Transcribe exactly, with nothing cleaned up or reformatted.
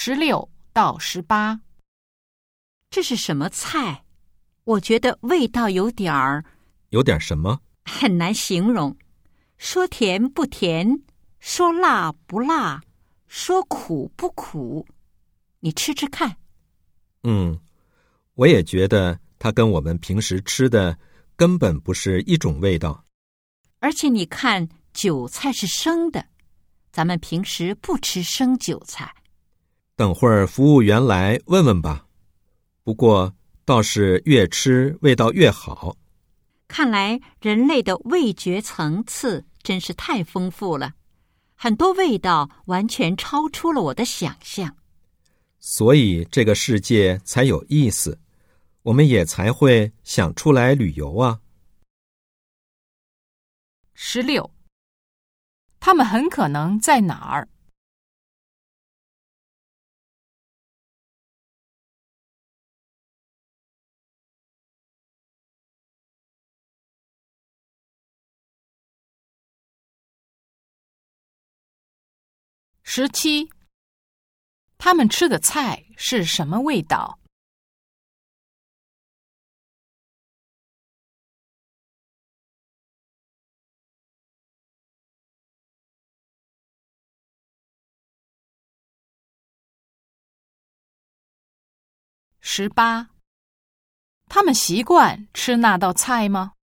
十六到十八。 这是什么菜？我觉得味道有点儿…… 有点什么？ 很难形容。说甜不甜，说辣不辣，说苦不苦。你吃吃看。 嗯，我也觉得它跟我们平时吃的根本不是一种味道。 而且你看，韭菜是生的，咱们平时不吃生韭菜。 等会儿服务员来问问吧。不过倒是越吃味道越好。 看来人类的味觉层次真是太丰富了，很多味道完全超出了我的想象。 所以这个世界才有意思，我们也才会想出来旅游啊。 十六，他们很可能在哪儿？十七，他们吃的菜是什么味道？十八，他们习惯吃那道菜吗？